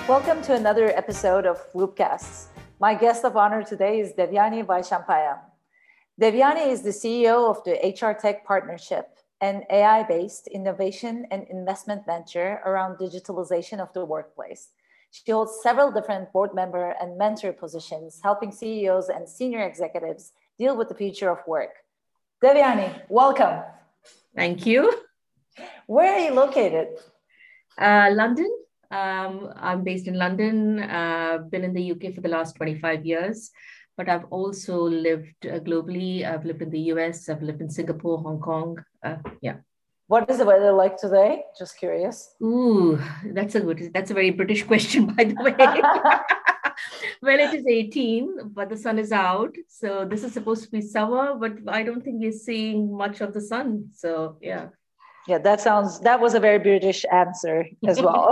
Welcome to another episode of Loopcasts. My guest of honor today is Devyani Vaishampayam. Devyani is the CEO of the HR Tech Partnership, an AI-based innovation and investment venture around digitalization of the workplace. She holds several different board member and mentor positions, helping CEOs and senior executives deal with the future of work. Devyani, welcome. Thank you. Where are you located? London. I'm based in London. Been in the UK for the last 25 years, but I've also lived globally. I've lived in the US. I've lived in Singapore, Hong Kong. What is the weather like today? Just curious. Ooh, that's a very British question, by the way. Well, it is 18, but the sun is out. So this is supposed to be summer, but I don't think we're seeing much of the sun. So yeah. Yeah, that was a very British answer as well.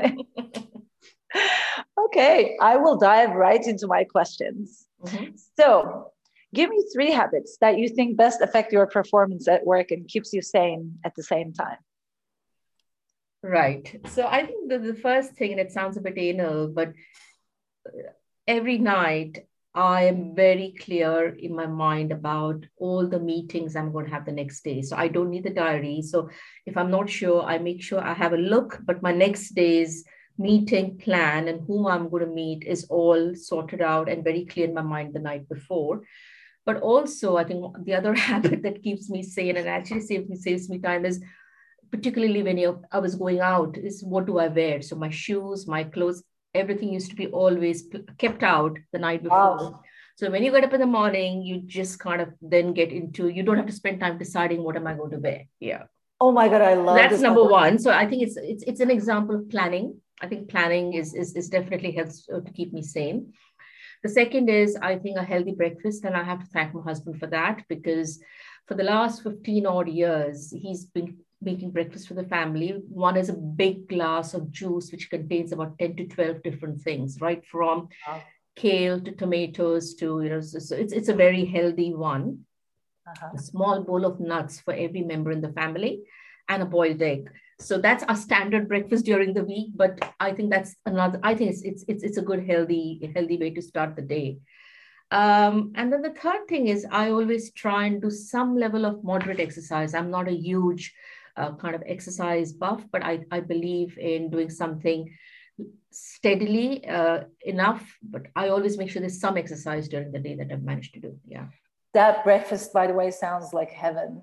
Okay, I will dive right into my questions. Mm-hmm. So, give me 3 habits that you think best affect your performance at work and keeps you sane at the same time. Right. So I think the first thing, and it sounds a bit anal, but every night I am very clear in my mind about all the meetings I'm going to have the next day. So I don't need the diary. So if I'm not sure, I make sure I have a look, but my next day's meeting plan and whom I'm going to meet is all sorted out and very clear in my mind the night before. But also, I think the other habit that keeps me sane and actually saves me time is, particularly when I was going out, is what do I wear? So my shoes, my clothes, everything used to be always kept out the night before. Wow. So when you get up in the morning, you just kind of then get into, you don't have to spend time deciding what am I going to wear. Yeah. Oh my God, I love that's number one. So I think it's an example of planning. I think planning is definitely helps to keep me sane. The second is, I think, a healthy breakfast. And I have to thank my husband for that, because for the last 15 odd years, he's been making breakfast for the family. One is a big glass of juice, which contains about 10 to 12 different things, right? From kale to tomatoes to, so it's a very healthy one. A small bowl of nuts for every member in the family and a boiled egg. So that's our standard breakfast during the week. But I think that's another, I think it's a good, healthy way to start the day. And then the third thing is, I always try and do some level of moderate exercise. I'm not a huge kind of exercise buff, but I believe in doing something steadily enough. But I always make sure there's some exercise during the day that I've managed to do. Yeah. That breakfast, by the way, sounds like heaven.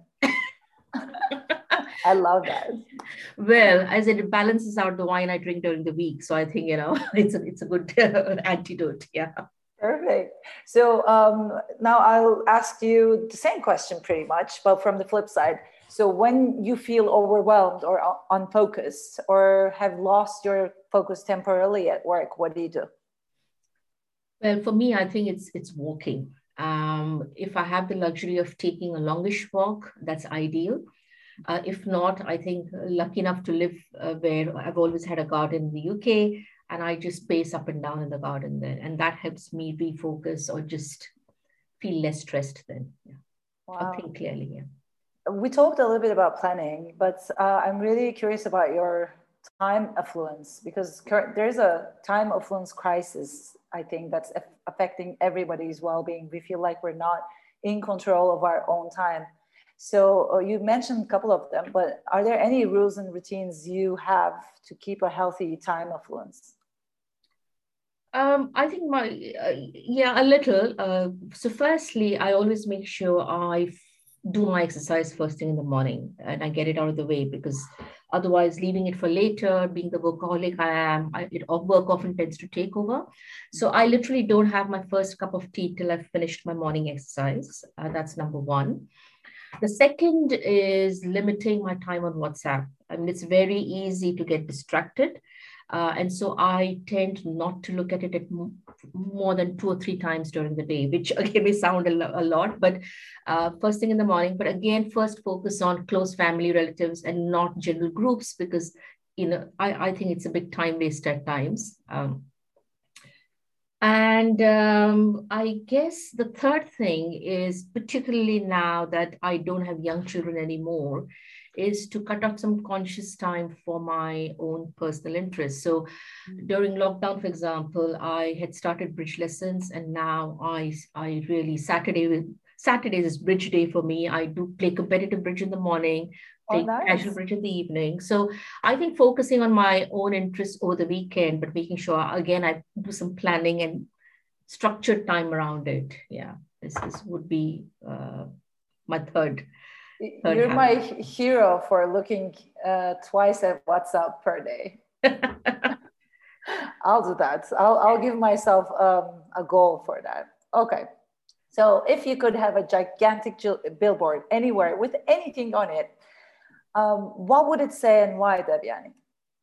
I love that. Well, as it balances out the wine I drink during the week. So I think, it's a good antidote. Yeah. Perfect. So now I'll ask you the same question pretty much, but from the flip side. So when you feel overwhelmed or unfocused or have lost your focus temporarily at work, what do you do? Well, for me, I think it's walking. If I have the luxury of taking a longish walk, that's ideal. If not, I think lucky enough to live where I've always had a garden in the UK, and I just pace up and down in the garden there. And that helps me refocus or just feel less stressed then. Yeah. Wow. Or think clearly, yeah. We talked a little bit about planning, but I'm really curious about your time affluence, because there's a time affluence crisis, I think, that's affecting everybody's well-being. We feel like we're not in control of our own time. So you mentioned a couple of them, but are there any rules and routines you have to keep a healthy time affluence? I think a little. So firstly, I always make sure I do my exercise first thing in the morning and I get it out of the way, because otherwise leaving it for later, being the workaholic I am, work often tends to take over. So I literally don't have my first cup of tea till I've finished my morning exercise. That's number one. The second is limiting my time on WhatsApp. I mean, it's very easy to get distracted. And so I tend not to look at it at more than 2 or 3 times during the day, which again may sound a lot, but first thing in the morning. But again, first focus on close family relatives and not general groups, because, I think it's a big time waste at times. I guess the third thing is, particularly now that I don't have young children anymore, is to cut out some conscious time for my own personal interests. So during lockdown, for example, I had started bridge lessons, and now I really Saturdays is bridge day for me. I do play competitive bridge in the morning, Oh, play casual nice. bridge in the evening. So I think focusing on my own interests over the weekend, but making sure again I do some planning and structured time around it. Yeah, this would be my third You're my habit. hero for looking twice at WhatsApp per day. I'll do that. I'll give myself a goal for that. Okay. So if you could have a gigantic billboard anywhere with anything on it, what would it say and why, Devyani?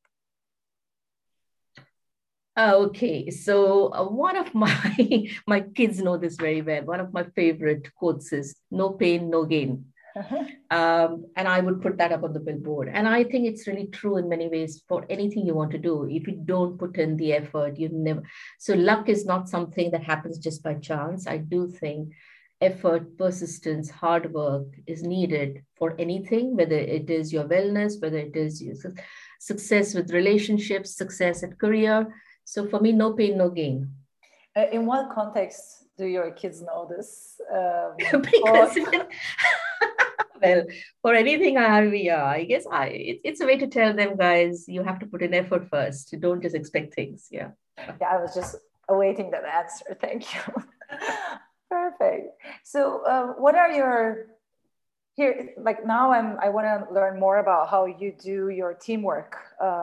Okay, so one of my my kids know this very well. One of my favorite quotes is "No pain, no gain." And I would put that up on the billboard. And I think it's really true in many ways for anything you want to do. If you don't put in the effort, you never. So luck is not something that happens just by chance. I do think effort, persistence, hard work is needed for anything, whether it is your wellness, whether it is your success with relationships, success at career. So for me, no pain, no gain. In what context do your kids know this Because quote? well, for anything I have, yeah, I guess it's a way to tell them, guys, you have to put in effort first. You don't just expect things. Yeah. Yeah, I was just awaiting that answer. Thank you. Perfect. So, what are your here? Like now, I want to learn more about how you do your teamwork.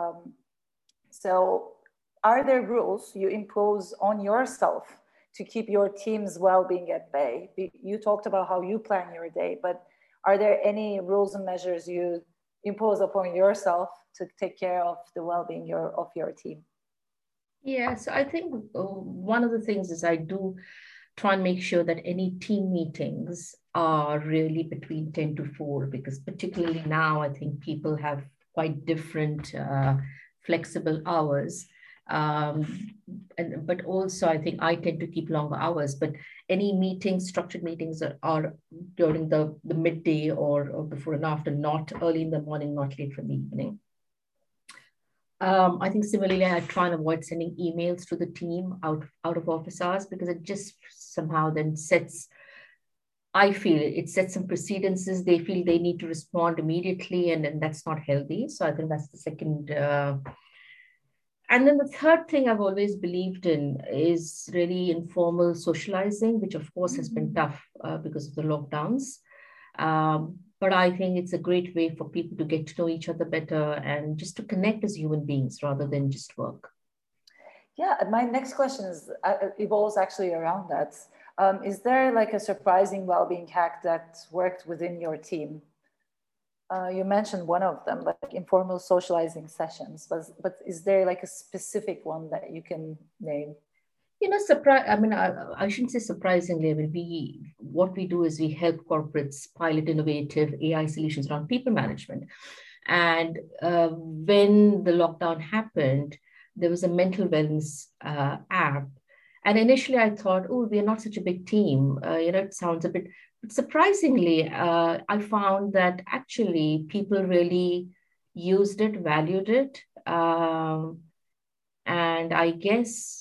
So, are there rules you impose on yourself to keep your team's well-being at bay? You talked about how you plan your day, but are there any rules and measures you impose upon yourself to take care of the well-being of your team? Yeah. So I think one of the things is I do try and make sure that any team meetings are really between 10 to 4, because particularly now, I think people have quite different flexible hours. Um, but also, I think I tend to keep longer hours. But any meetings, structured meetings are during the midday or before and after, not early in the morning, not late in the evening. I think similarly, I try and avoid sending emails to the team out of office hours, because it just somehow then I feel it sets some precedences. They feel they need to respond immediately, and that's not healthy. So I think that's the second. And then the third thing I've always believed in is really informal socializing, which of course has been tough because of the lockdowns. But I think it's a great way for people to get to know each other better and just to connect as human beings rather than just work. Yeah, my next question is evolves actually around that. Is there like a surprising well-being hack that worked within your team? You mentioned one of them, like informal socializing sessions, but is there like a specific one that you can name? Surprise. I mean, I shouldn't say surprisingly. I mean, what we do is we help corporates pilot innovative AI solutions around people management. And when the lockdown happened, there was a mental wellness app. And initially, I thought, oh, we're not such a big team. It sounds a bit. But surprisingly, I found that actually people really used it, valued it. And I guess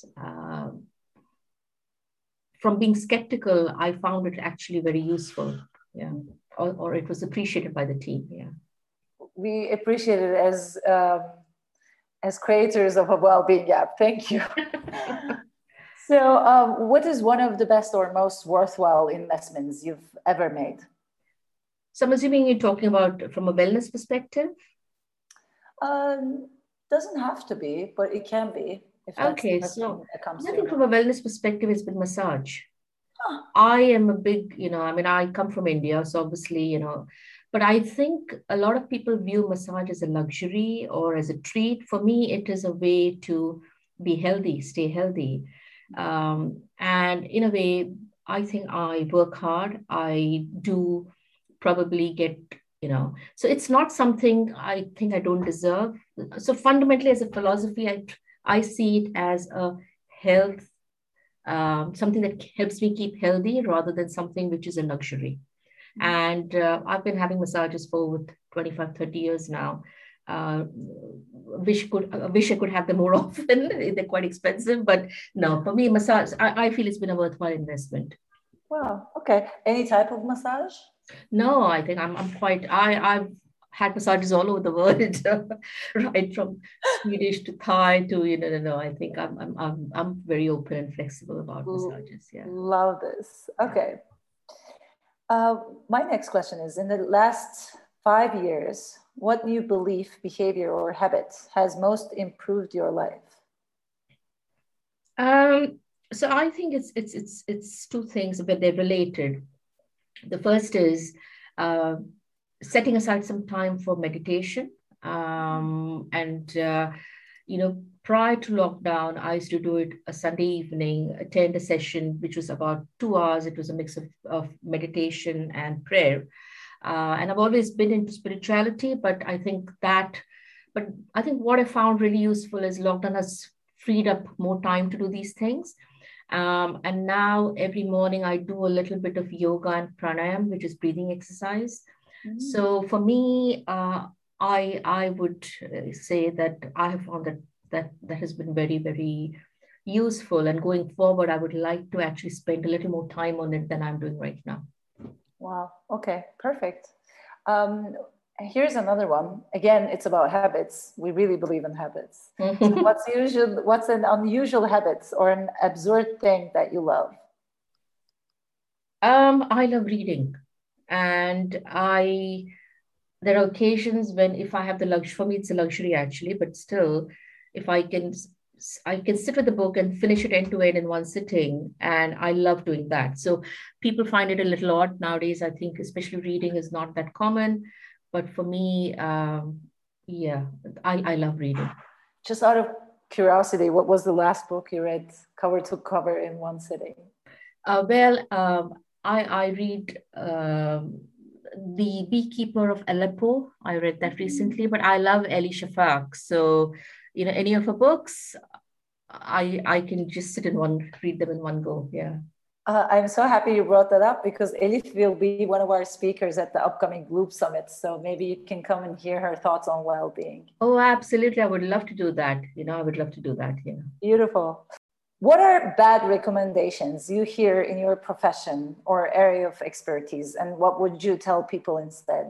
from being skeptical, I found it actually very useful. Yeah. Or it was appreciated by the team. Yeah. We appreciate it as creators of a well-being app. Thank you. So, what is one of the best or most worthwhile investments you've ever made? So I'm assuming you're talking about from a wellness perspective? Doesn't have to be, but it can be if that's the Okay, first so thing that comes I to your think mind. from a wellness perspective, it's been massage. Huh. I am a big, I mean, I come from India, so obviously, but I think a lot of people view massage as a luxury or as a treat. For me, it is a way to be healthy, stay healthy. And in a way, I think I work hard. I do probably get, so it's not something I think I don't deserve. So fundamentally, as a philosophy, I see it as a health something that helps me keep healthy rather than something which is a luxury. And I've been having massages for over 25, 30 years now. Wish I could have them more often. They're quite expensive, but no, for me, massage, I feel it's been a worthwhile investment. Wow. Okay. Any type of massage? No, I think I'm quite, I've had massages all over the world, right from Swedish to Thai to, no, I think I'm very open and flexible about massages. Yeah. Love this. Okay. My next question is, in the last 5 years, what new belief, behavior, or habit has most improved your life? So I think it's two things, but they're related. The first is setting aside some time for meditation. And prior to lockdown, I used to do it a Sunday evening, attend a session, which was about 2 hours. It was a mix of meditation and prayer. And I've always been into spirituality, but I think what I found really useful is lockdown has freed up more time to do these things. And now every morning I do a little bit of yoga and pranayam, which is breathing exercise. Mm-hmm. So for me, I would say that I have found that has been very, very useful. And going forward, I would like to actually spend a little more time on it than I'm doing right now. Wow. Okay, perfect. Here's another one. Again, it's about habits. We really believe in habits. So what's an unusual habit or an absurd thing that you love? I love reading. And there are occasions when if I have the luxury, for me, it's a luxury actually, but still, if I can sit with the book and finish it end to end in one sitting. And I love doing that. So people find it a little odd nowadays. I think especially reading is not that common. But for me, I love reading. Just out of curiosity, what was the last book you read cover to cover in one sitting? I read The Beekeeper of Aleppo. I read that recently, but I love Elie Shafak. So, any of her books, I can just read them in one go. Yeah. I'm so happy you brought that up because Elif will be one of our speakers at the upcoming Loop Summit. So maybe you can come and hear her thoughts on well-being. Oh, absolutely. I would love to do that. I would love to do that. Yeah. Beautiful. What are bad recommendations you hear in your profession or area of expertise? And what would you tell people instead?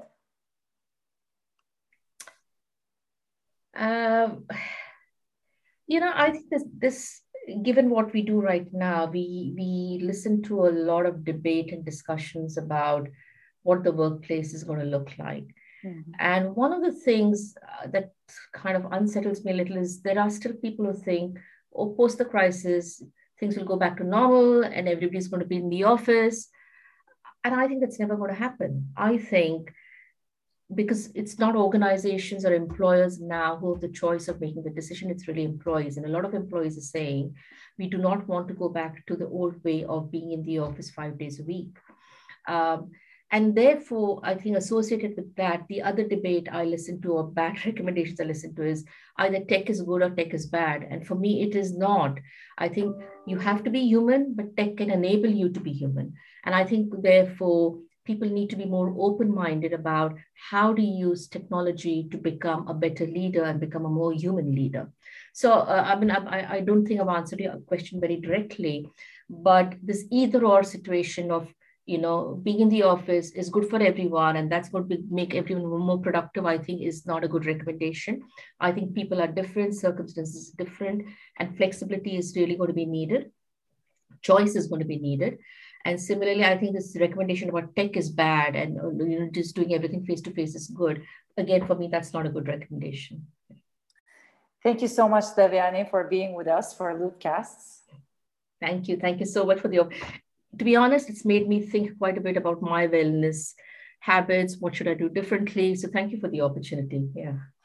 I think this given what we do right now, we listen to a lot of debate and discussions about what the workplace is going to look like. Mm-hmm. And one of the things that kind of unsettles me a little is there are still people who think, post the crisis, things will go back to normal and everybody's going to be in the office. And I think that's never going to happen. I think because it's not organizations or employers now who have the choice of making the decision, it's really employees. And a lot of employees are saying, we do not want to go back to the old way of being in the office 5 days a week. And therefore, I think associated with that, the other debate I listen to or bad recommendations I listen to is either tech is good or tech is bad. And for me, it is not. I think you have to be human, but tech can enable you to be human. And I think therefore, people need to be more open-minded about how to use technology to become a better leader and become a more human leader. So, I don't think I've answered your question very directly, but this either-or situation of, being in the office is good for everyone, and that's what will make everyone more productive, I think is not a good recommendation. I think people are different, circumstances are different, and flexibility is really going to be needed. Choice is going to be needed. And similarly, I think this recommendation about tech is bad and just doing everything face-to-face is good. Again, for me, that's not a good recommendation. Thank you so much, Devyani, for being with us for Loopcasts. Thank you. Thank you so much for to be honest, it's made me think quite a bit about my wellness habits. What should I do differently? So thank you for the opportunity. Yeah.